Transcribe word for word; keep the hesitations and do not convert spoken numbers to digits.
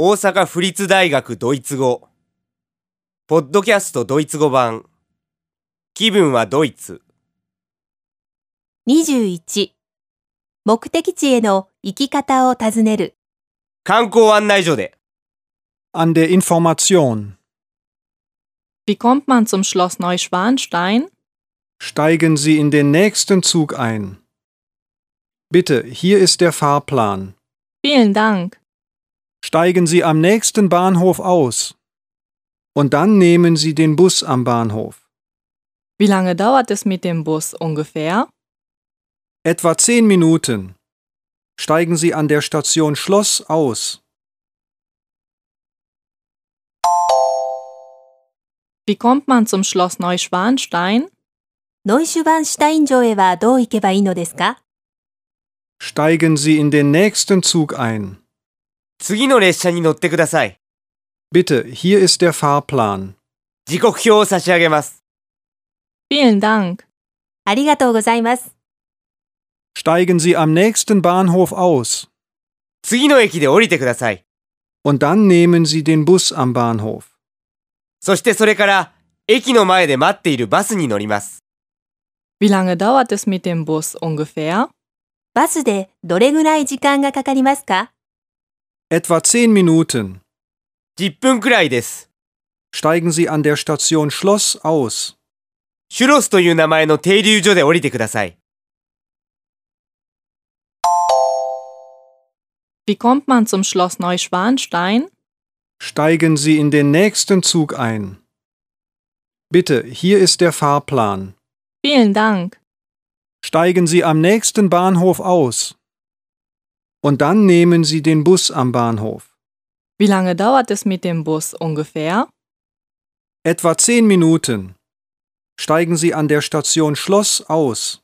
大阪府立大学ドイツ語ポッドキャストドイツ語版気分はドイツにじゅういち目的地への行き方を尋ねる観光案内所で An der Information. Wie kommt man zum Schloss Neuschwanstein? Steigen Sie in den nächsten Zug ein. Bitte, hier ist der Fahrplan. Vielen Dank. Steigen Sie am nächsten Bahnhof aus. Und dann nehmen Sie den Bus am Bahnhof. Wie lange dauert es mit dem Bus ungefähr? Etwa zehn Minuten. Steigen Sie an der Station Schloss aus. Wie kommt man zum Schloss Neuschwanstein? ノイシュバンシュタイン城へはどう行けばいいのですか？ Steigen Sie in den nächsten Zug ein. 次の列車に乗ってください。 Bitte, hier ist der Fahrplan. 時刻表を差し上げます。 Vielen Dank. ありがとうございます。 Steigen Sie am nächsten Bahnhof aus. 次の駅で降りてください。 Und dann nehmen Sie den Bus am Bahnhof. そしてそれから駅の前で待っているバスに乗ります。 Wie lange dauert es mit dem Bus ungefähr? バスでどれぐらい時間がかかりますか？ Etwa zehn Minuten. じゅっぷんくらいです。 Steigen Sie an der Station Schloss aus. シュロスという名前の停留所で降りてください。 Wie kommt man zum Schloss Neuschwanstein? Steigen Sie in den nächsten Zug ein. Bitte, hier ist der Fahrplan. Vielen Dank. Steigen Sie am nächsten Bahnhof aus. Und dann nehmen Sie den Bus am Bahnhof. Wie lange dauert es mit dem Bus ungefähr? Etwa zehn Minuten. Steigen Sie an der Station Schloss aus.